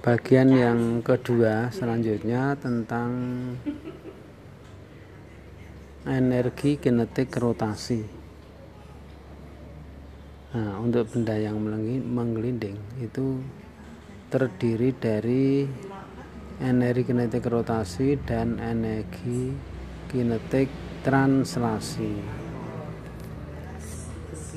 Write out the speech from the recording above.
Bagian yang kedua selanjutnya tentang energi kinetik rotasi. Nah, untuk benda yang menggelinding itu terdiri dari energi kinetik rotasi dan energi kinetik translasi.